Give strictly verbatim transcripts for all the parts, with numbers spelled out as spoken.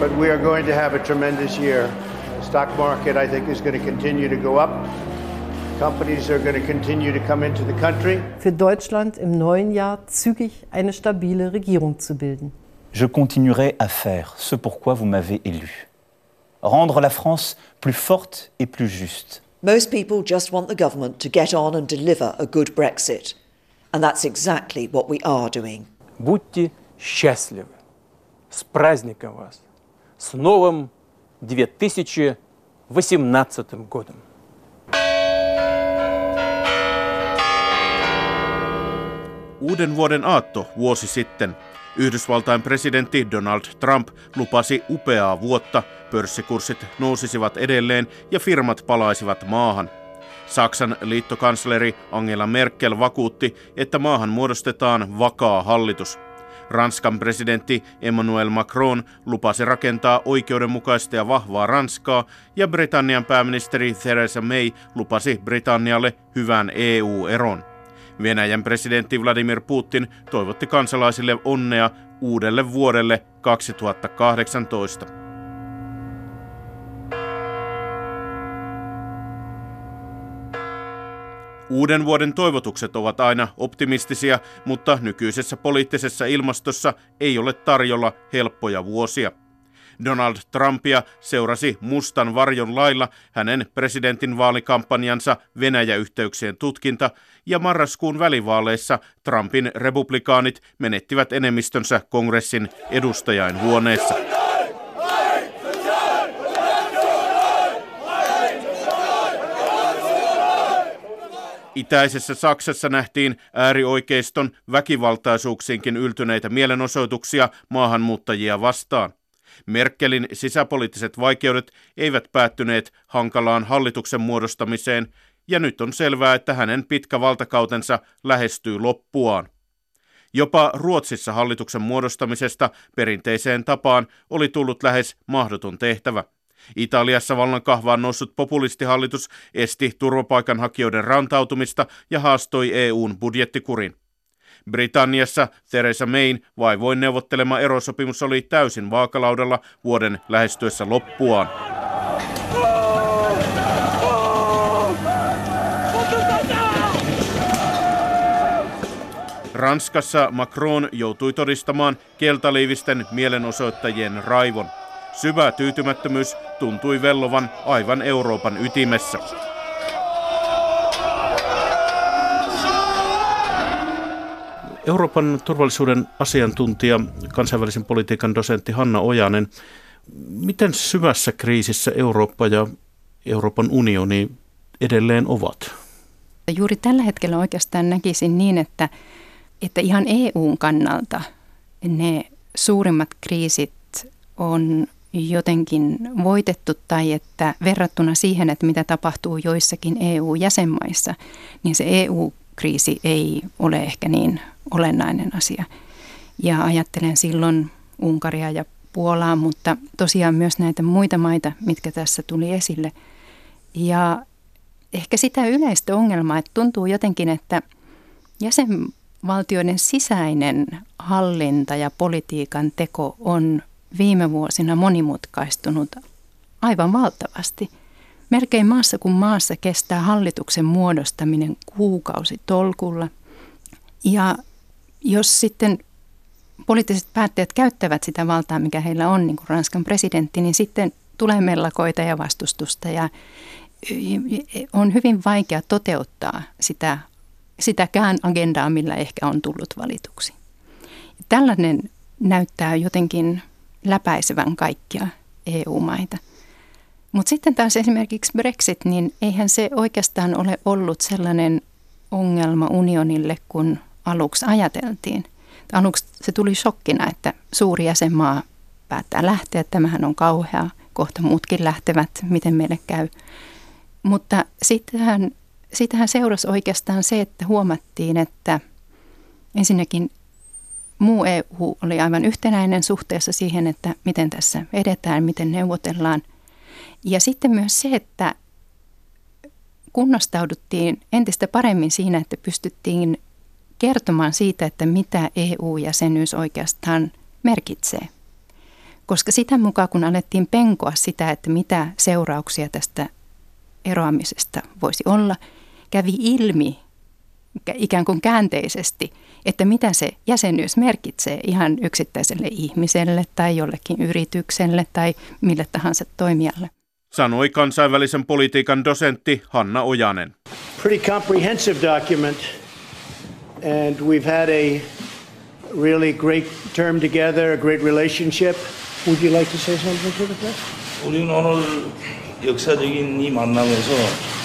but we are going to have a tremendous year. The stock market, I think, is going to continue to go up. Companies are going to continue to come into the country. Für Deutschland im neuen Jahr zügig eine stabile Regierung zu bilden. Je continuerai à faire ce pourquoi vous m'avez élu. Rendre la France plus forte et plus juste. Most people just want the government to get on and deliver a good Brexit. And that's exactly what we are doing. Будьте счастливы. С праздником вас. С новым две тысячи восемнадцатым годом. Uuden vuoden aatto vuosi sitten. Yhdysvaltain presidentti Donald Trump lupasi upeaa vuotta, pörssikurssit nousisivat edelleen ja firmat palaisivat maahan. Saksan liittokansleri Angela Merkel vakuutti, että maahan muodostetaan vakaa hallitus. Ranskan presidentti Emmanuel Macron lupasi rakentaa oikeudenmukaista ja vahvaa Ranskaa, ja Britannian pääministeri Theresa May lupasi Britannialle hyvän E U-eron. Venäjän presidentti Vladimir Putin toivotti kansalaisille onnea uudelle vuodelle kaksituhattakahdeksantoista. Uuden vuoden toivotukset ovat aina optimistisia, mutta nykyisessä poliittisessa ilmastossa ei ole tarjolla helppoja vuosia. Donald Trumpia seurasi mustan varjon lailla hänen presidentin vaalikampanjansa Venäjä-yhteyksien tutkinta, ja marraskuun välivaaleissa Trumpin republikaanit menettivät enemmistönsä kongressin edustajainhuoneessa. Itäisessä Saksassa nähtiin äärioikeiston väkivaltaisuuksiinkin yltyneitä mielenosoituksia maahanmuuttajia vastaan. Merkelin sisäpoliittiset vaikeudet eivät päättyneet hankalaan hallituksen muodostamiseen, ja nyt on selvää, että hänen pitkä valtakautensa lähestyy loppuaan. Jopa Ruotsissa hallituksen muodostamisesta perinteiseen tapaan oli tullut lähes mahdoton tehtävä. Italiassa vallan kahvaan noussut populistihallitus esti turvapaikanhakijoiden rantautumista ja haastoi E U:n budjettikurin. Britanniassa Theresa Mayn vaivoin neuvottelema erosopimus oli täysin vaakalaudalla vuoden lähestyessä loppuaan. Ranskassa Macron joutui todistamaan keltaliivisten mielenosoittajien raivon. Syvä tyytymättömyys tuntui vellovan aivan Euroopan ytimessä. Euroopan turvallisuuden asiantuntija, kansainvälisen politiikan dosentti Hanna Ojanen. Miten syvässä kriisissä Eurooppa ja Euroopan unioni edelleen ovat? Juuri tällä hetkellä oikeastaan näkisin niin, että, että ihan E U:n kannalta ne suurimmat kriisit on jotenkin voitettu, tai että verrattuna siihen, että mitä tapahtuu joissakin E U-jäsenmaissa, niin se E U-kriisi ei ole ehkä niin olennainen asia. Ja ajattelen silloin Unkaria ja Puolaa, mutta tosiaan myös näitä muita maita, mitkä tässä tuli esille. Ja ehkä sitä yleistä ongelmaa, että tuntuu jotenkin, että jäsenvaltioiden sisäinen hallinta ja politiikan teko on viime vuosina monimutkaistunut aivan valtavasti. Melkein maassa kuin maassa kestää hallituksen muodostaminen kuukausitolkulla. Ja jos sitten poliittiset päättäjät käyttävät sitä valtaa, mikä heillä on, niin kuin Ranskan presidentti, niin sitten tulee mellakoita ja vastustusta ja on hyvin vaikea toteuttaa sitä, sitäkään agendaa, millä ehkä on tullut valituksi. Tällainen näyttää jotenkin läpäisevän kaikkia E U-maita. Mutta sitten taas esimerkiksi Brexit, niin eihän se oikeastaan ole ollut sellainen ongelma unionille, kun aluksi ajateltiin. Aluksi se tuli shokkina, että suuri jäsenmaa päättää lähteä. Tämähän on kauhea. Kohta muutkin lähtevät, miten meille käy. Mutta sittenhän, sittenhän seurasi oikeastaan se, että huomattiin, että ensinnäkin muu E U oli aivan yhtenäinen suhteessa siihen, että miten tässä edetään, miten neuvotellaan. Ja sitten myös se, että kunnostauduttiin entistä paremmin siinä, että pystyttiin kertomaan siitä, että mitä E U-jäsenyys oikeastaan merkitsee. Koska sitä mukaan, kun alettiin penkoa sitä, että mitä seurauksia tästä eroamisesta voisi olla, kävi ilmi ikään kuin käänteisesti, että mitä se jäsenyys merkitsee ihan yksittäiselle ihmiselle tai jollekin yritykselle tai mille tahansa toimijalle. Sanoi kansainvälisen politiikan dosentti Hanna Ojanen. Pretty comprehensive document, and we've had a really great term together, a great relationship. Would you like to say something to the press? 우리는 오늘 역사적인 이 만남에서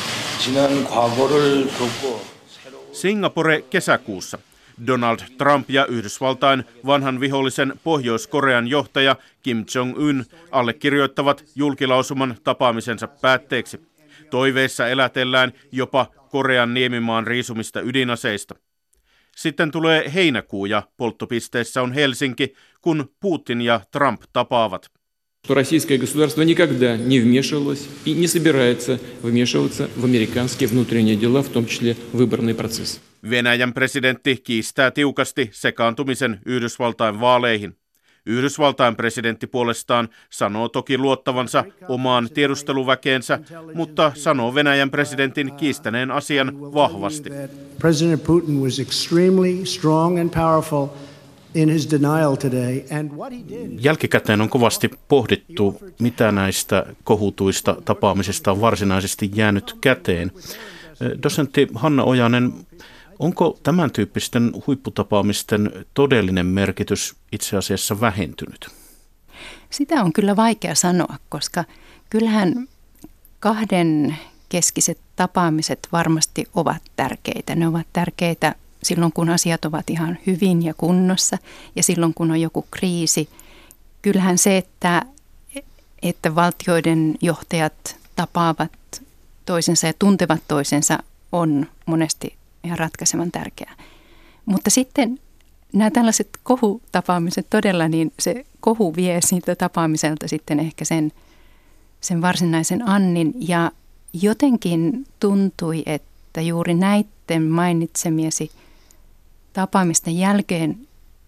지난 과거를 덮고 Singapore kesäkuussa. Donald Trump ja Yhdysvaltain vanhan vihollisen Pohjois-Korean johtaja Kim Jong-un allekirjoittavat julkilausuman tapaamisensa päätteeksi. Toiveissa elätellään jopa Korean niemimaan riisumista ydinaseista. Sitten tulee heinäkuu ja polttopisteessä on Helsinki, kun Putin ja Trump tapaavat. Российское государство никогда не вмешивалось и не собирается вмешиваться в американские внутренние дела, в том числе выборный процесс. Venäjän presidentti kiistää tiukasti sekaantumisen Yhdysvaltain vaaleihin. Yhdysvaltain presidentti puolestaan sanoo toki luottavansa omaan tiedusteluväkeensä, mutta sanoo Venäjän presidentin kiistäneen asian vahvasti. President Putin was extremely strong and powerful in his denial today, and what he did. Jälkikäteen on kovasti pohdittu, mitä näistä kohutuista tapaamisista on varsinaisesti jäänyt käteen. Dosentti Hanna Ojanen, onko tämän tyyppisten huipputapaamisten todellinen merkitys itse asiassa vähentynyt? Sitä on kyllä vaikea sanoa, koska kyllähän kahden keskiset tapaamiset varmasti ovat tärkeitä. Ne ovat tärkeitä silloin, kun asiat ovat ihan hyvin ja kunnossa ja silloin, kun on joku kriisi. Kyllähän se, että, että valtioiden johtajat tapaavat toisensa ja tuntevat toisensa, on monesti ihan ratkaisevan tärkeää. Mutta sitten nämä tällaiset kohutapaamiset todella, niin se kohu vie siitä tapaamiselta sitten ehkä sen, sen varsinaisen annin. Ja jotenkin tuntui, että juuri näiden mainitsemiesi tapaamisten jälkeen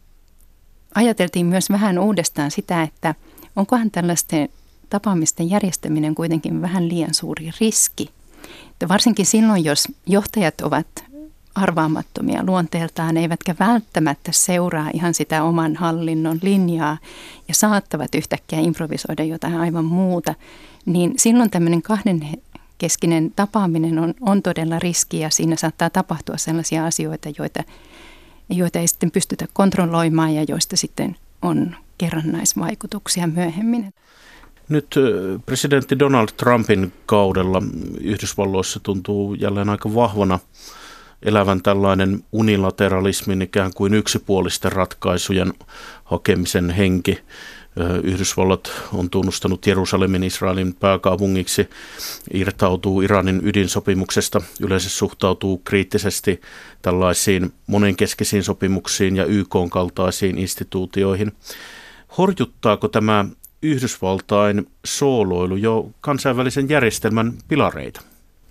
ajateltiin myös vähän uudestaan sitä, että onkohan tällaisten tapaamisten järjestäminen kuitenkin vähän liian suuri riski. Että varsinkin silloin, jos johtajat ovat arvaamattomia luonteeltaan, eivätkä välttämättä seuraa ihan sitä oman hallinnon linjaa ja saattavat yhtäkkiä improvisoida jotain aivan muuta, niin silloin tämmöinen kahdenkeskinen tapaaminen on, on todella riski ja siinä saattaa tapahtua sellaisia asioita, joita, joita ei sitten pystytä kontrolloimaan ja joista sitten on kerrannaisvaikutuksia myöhemmin. Nyt presidentti Donald Trumpin kaudella Yhdysvalloissa tuntuu jälleen aika vahvana elävän tällainen unilateralismin ikään kuin yksipuolisten ratkaisujen hakemisen henki. Yhdysvallat on tunnustanut Jerusalemin Israelin pääkaupungiksi, irtautuu Iranin ydinsopimuksesta, yleensä suhtautuu kriittisesti tällaisiin monenkeskisiin sopimuksiin ja Y K:n kaltaisiin instituutioihin. Horjuttaako tämä Yhdysvaltain sooloilu jo kansainvälisen järjestelmän pilareita?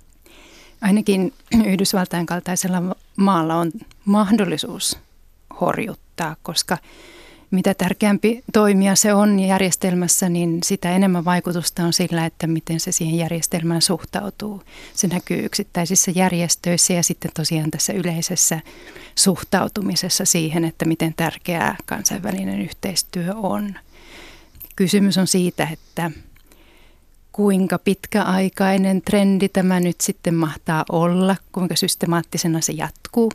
Ainakin Yhdysvaltain kaltaisella maalla on mahdollisuus horjuttaa, koska mitä tärkeämpi toimija se on järjestelmässä, niin sitä enemmän vaikutusta on sillä, että miten se siihen järjestelmään suhtautuu. Se näkyy yksittäisissä järjestöissä ja sitten tosiaan tässä yleisessä suhtautumisessa siihen, että miten tärkeää kansainvälinen yhteistyö on. Kysymys on siitä, että kuinka pitkäaikainen trendi tämä nyt sitten mahtaa olla, kuinka systemaattisena se jatkuu.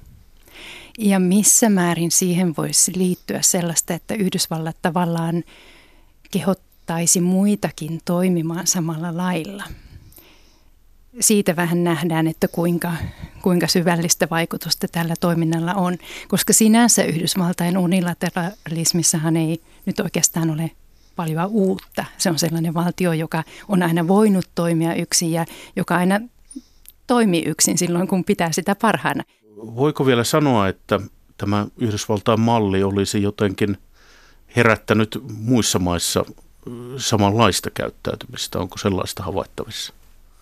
Ja missä määrin siihen voisi liittyä sellaista, että Yhdysvallat tavallaan kehottaisi muitakin toimimaan samalla lailla. Siitä vähän nähdään, että kuinka, kuinka syvällistä vaikutusta tällä toiminnalla on, koska sinänsä Yhdysvaltain unilateralismissahan ei nyt oikeastaan ole paljon uutta. Se on sellainen valtio, joka on aina voinut toimia yksin ja joka aina toimii yksin silloin, kun pitää sitä parhaana. Voiko vielä sanoa, että tämä Yhdysvaltain malli olisi jotenkin herättänyt muissa maissa samanlaista käyttäytymistä? Onko sellaista havaittavissa?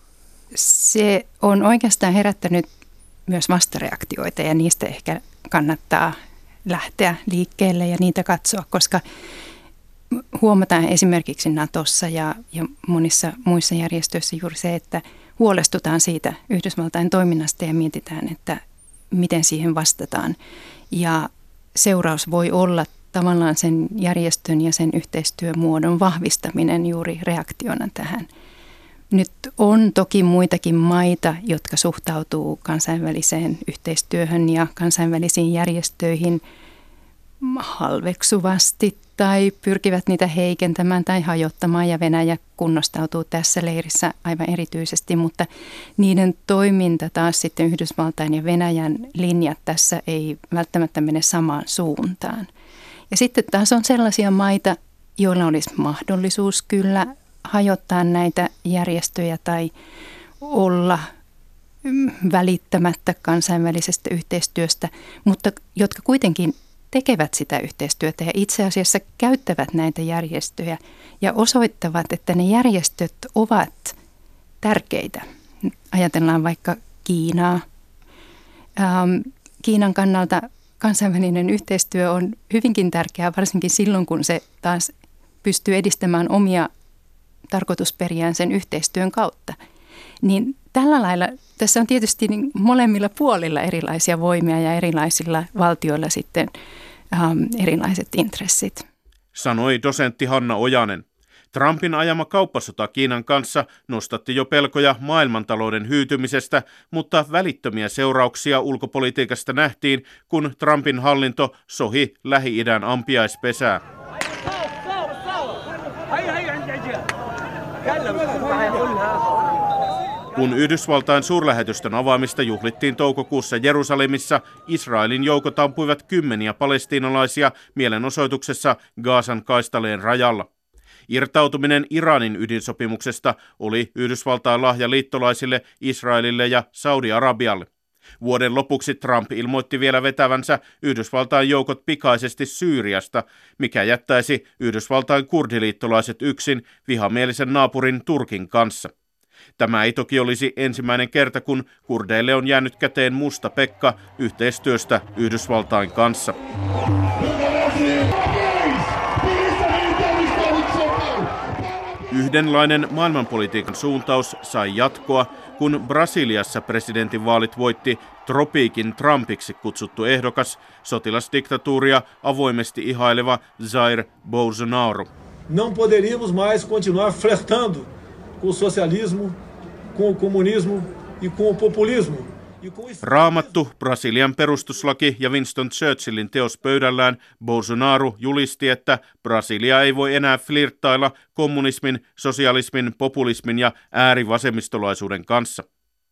Se on oikeastaan herättänyt myös vastareaktioita ja niistä ehkä kannattaa lähteä liikkeelle ja niitä katsoa, koska huomataan esimerkiksi Natossa ja, ja monissa muissa järjestöissä juuri se, että huolestutaan siitä Yhdysvaltain toiminnasta ja mietitään, että miten siihen vastataan. Ja seuraus voi olla tavallaan sen järjestön ja sen yhteistyömuodon vahvistaminen juuri reaktiona tähän. Nyt on toki muitakin maita, jotka suhtautuu kansainväliseen yhteistyöhön ja kansainvälisiin järjestöihin halveksuvasti tai pyrkivät niitä heikentämään tai hajottamaan, ja Venäjä kunnostautuu tässä leirissä aivan erityisesti, mutta niiden toiminta taas sitten Yhdysvaltain ja Venäjän linjat tässä ei välttämättä mene samaan suuntaan. Ja sitten taas on sellaisia maita, joilla olisi mahdollisuus kyllä hajottaa näitä järjestöjä tai olla välittämättä kansainvälisestä yhteistyöstä, mutta jotka kuitenkin tekevät sitä yhteistyötä ja itse asiassa käyttävät näitä järjestöjä ja osoittavat, että ne järjestöt ovat tärkeitä. Ajatellaan vaikka Kiinaa. Ähm, Kiinan kannalta kansainvälinen yhteistyö on hyvinkin tärkeää, varsinkin silloin, kun se taas pystyy edistämään omia tarkoitusperiään sen yhteistyön kautta. Niin tällä lailla tässä on tietysti niin molemmilla puolilla erilaisia voimia ja erilaisilla valtioilla sitten ähm, erilaiset intressit. Sanoi dosentti Hanna Ojanen. Trumpin ajama kauppasota Kiinan kanssa nostatti jo pelkoja maailmantalouden hyytymisestä, mutta välittömiä seurauksia ulkopolitiikasta nähtiin, kun Trumpin hallinto sohi Lähi-idän ampiaispesää. Kun Yhdysvaltain suurlähetystön avaamista juhlittiin toukokuussa Jerusalemissa, Israelin joukot ampuivat kymmeniä palestiinalaisia mielenosoituksessa Gazan kaistaleen rajalla. Irtautuminen Iranin ydinsopimuksesta oli Yhdysvaltain lahja liittolaisille, Israelille ja Saudi-Arabialle. Vuoden lopuksi Trump ilmoitti vielä vetävänsä Yhdysvaltain joukot pikaisesti Syyriasta, mikä jättäisi Yhdysvaltain kurdiliittolaiset yksin vihamielisen naapurin Turkin kanssa. Tämä ei toki olisi ensimmäinen kerta, kun kurdeille on jäänyt käteen musta Pekka yhteistyöstä Yhdysvaltain kanssa. Yhdenlainen maailmanpolitiikan suuntaus sai jatkoa, kun Brasiliassa presidentinvaalit voitti tropiikin Trumpiksi kutsuttu ehdokas, sotilasdiktatuuria avoimesti ihaileva Jair Bolsonaro. Não poderíamos mais continuar flertando com o socialismo, com o comunismo e com o populismo. Raamattu, Brasilian perustuslaki ja Winston Churchillin teos pöydällään, Bolsonaro julisti, että Brasilia ei voi enää flirttailla kommunismin, sosialismin, populismin ja äärivasemmistolaisuuden kanssa.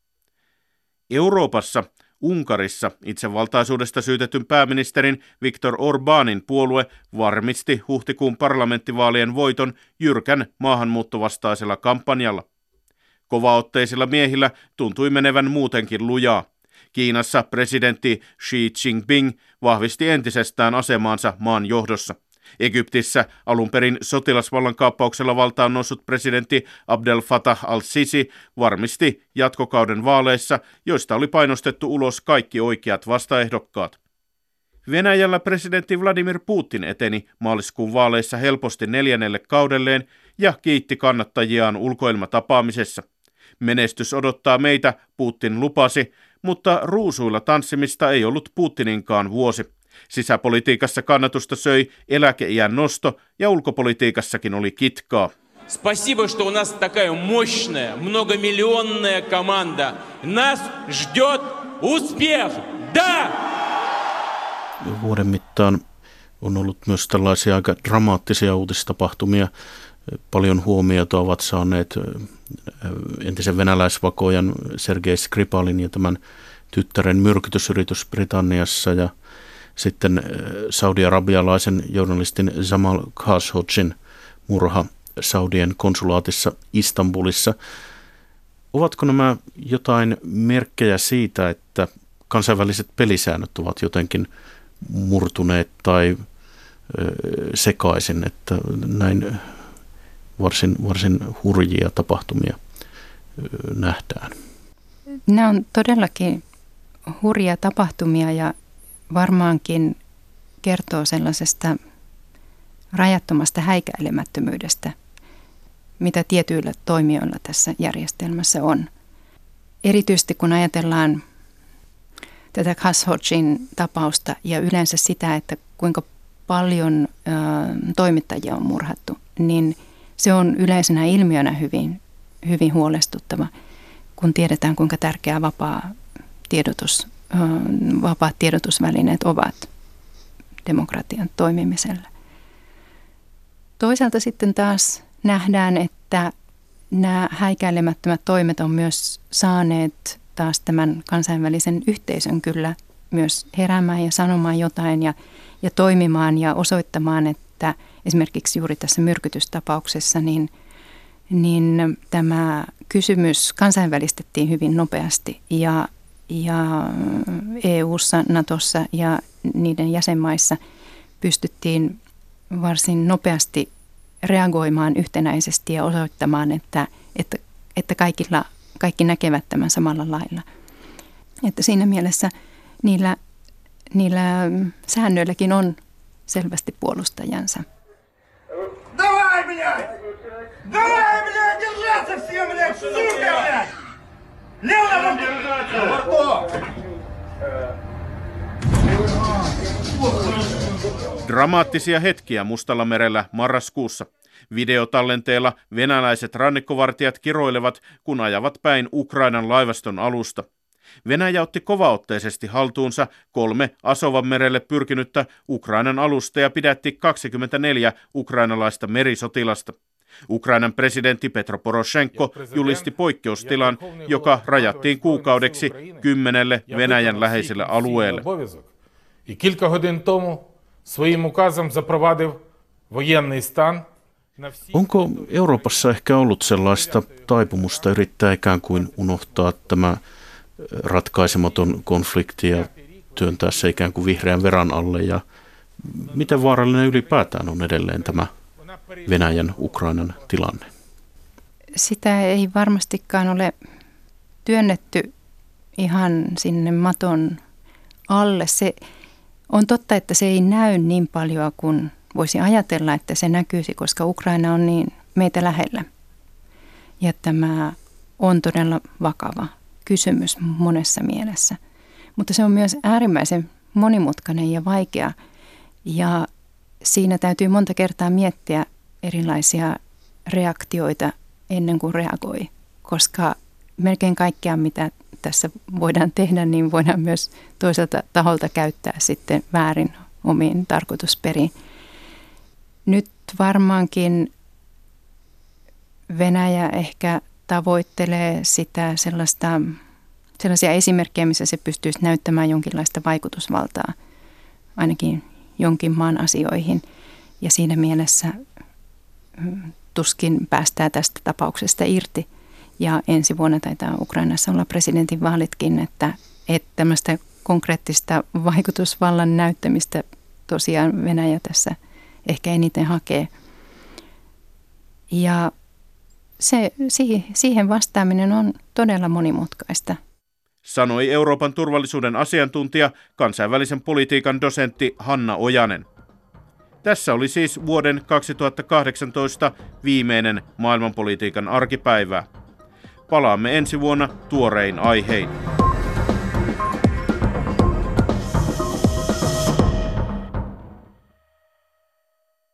Euroopassa, Unkarissa itsevaltaisuudesta syytetyn pääministerin Viktor Orbánin puolue varmisti huhtikuun parlamenttivaalien voiton jyrkän maahanmuuttovastaisella kampanjalla. Kovaotteisilla miehillä tuntui menevän muutenkin lujaa. Kiinassa presidentti Xi Jinping vahvisti entisestään asemaansa maan johdossa. Egyptissä alun perin sotilasvallankaappauksella valtaan noussut presidentti Abdel Fattah al-Sisi varmisti jatkokauden vaaleissa, joista oli painostettu ulos kaikki oikeat vastaehdokkaat. Venäjällä presidentti Vladimir Putin eteni maaliskuun vaaleissa helposti neljännelle kaudelleen ja kiitti kannattajiaan ulkoilmatapaamisessa. Menestys odottaa meitä, Putin lupasi, mutta ruusuilla tanssimista ei ollut Putininkaan vuosi. Sisäpolitiikassa kannatusta söi eläkeiän nosto ja ulkopolitiikassakin oli kitkaa. Спасибо, что у нас такая мощная, многомиллионная команда. Нас ждет успех. Да! Vuoden mittaan on ollut myös tällaisia aika dramaattisia uutistapahtumia. Paljon huomiota ovat saaneet entisen venäläisvakojan Sergei Skripalin ja tämän tyttären myrkytysyritys Britanniassa ja sitten saudi-arabialaisen journalistin Jamal Khashoggin murha Saudien konsulaatissa Istanbulissa. Ovatko nämä jotain merkkejä siitä, että kansainväliset pelisäännöt ovat jotenkin murtuneet tai sekaisin, että näin varsin, varsin hurjia tapahtumia nähdään? Nämä on todellakin hurjia tapahtumia ja varmaankin kertoo sellaisesta rajattomasta häikäilemättömyydestä, mitä tietyillä toimijoilla tässä järjestelmässä on. Erityisesti kun ajatellaan tätä Khashoggin tapausta ja yleensä sitä, että kuinka paljon ö, toimittajia on murhattu, niin se on yleisenä ilmiönä hyvin, hyvin huolestuttava, kun tiedetään kuinka tärkeää vapaa tiedotus, ö, vapaat tiedotusvälineet ovat demokratian toimimiselle. Toisaalta sitten taas nähdään, että nämä häikäilemättömät toimet on myös saaneet taas tämän kansainvälisen yhteisön kyllä myös heräämään ja sanomaan jotain ja, ja toimimaan ja osoittamaan, että esimerkiksi juuri tässä myrkytystapauksessa niin, niin tämä kysymys kansainvälistettiin hyvin nopeasti ja, ja E U:ssa, Natossa ja niiden jäsenmaissa pystyttiin varsin nopeasti reagoimaan yhtenäisesti ja osoittamaan, että, että, että kaikilla, kaikki näkevät tämän samalla lailla. Että siinä mielessä niillä, niillä säännöilläkin on selvästi puolustajansa. Dramaattisia hetkiä Mustallamerellä marraskuussa. Videotallenteella venäläiset rannikkovartijat kiroilevat, kun ajavat päin Ukrainan laivaston alusta. Venäjä otti kovaotteisesti haltuunsa kolme Asovanmerelle pyrkinyttä Ukrainan alusta ja pidätti kaksikymmentäneljä ukrainalaista merisotilasta. Ukrainan presidentti Petro Poroshenko julisti poikkeustilan, joka rajattiin kuukaudeksi kymmenelle Venäjän läheiselle alueelle. Кілька годин тому своїм указом запровадив воєнний стан. Onko Euroopassa ehkä ollut sellaista taipumusta yrittää ikään kuin unohtaa tämä ratkaisematon konflikti ja työntää se ikään kuin vihreän veran alle? Ja miten vaarallinen ylipäätään on edelleen tämä Venäjän Ukrainan tilanne? Sitä ei varmastikaan ole työnnetty ihan sinne maton alle. Se on totta, että se ei näy niin paljon kuin voisi ajatella, että se näkyisi, koska Ukraina on niin meitä lähellä. Ja tämä on todella vakava kysymys monessa mielessä. Mutta se on myös äärimmäisen monimutkainen ja vaikea. Ja siinä täytyy monta kertaa miettiä erilaisia reaktioita ennen kuin reagoi, koska melkein kaikkea, mitä tässä voidaan tehdä, niin voidaan myös toiselta taholta käyttää sitten väärin omiin tarkoitusperiin. Nyt varmaankin Venäjä ehkä tavoittelee sitä sellaista, sellaisia esimerkkejä, missä se pystyisi näyttämään jonkinlaista vaikutusvaltaa ainakin jonkin maan asioihin. Ja siinä mielessä tuskin päästään tästä tapauksesta irti. Ja ensi vuonna taitaa Ukrainassa olla presidentinvaalitkin, että, että tämmöistä konkreettista vaikutusvallan näyttämistä tosiaan Venäjä tässä ehkä eniten hakee. Ja se, siihen vastaaminen on todella monimutkaista. Sanoi Euroopan turvallisuuden asiantuntija, kansainvälisen politiikan dosentti Hanna Ojanen. Tässä oli siis vuoden kaksituhattakahdeksantoista viimeinen maailmanpolitiikan arkipäivää. Palaamme ensi vuonna tuorein aihein.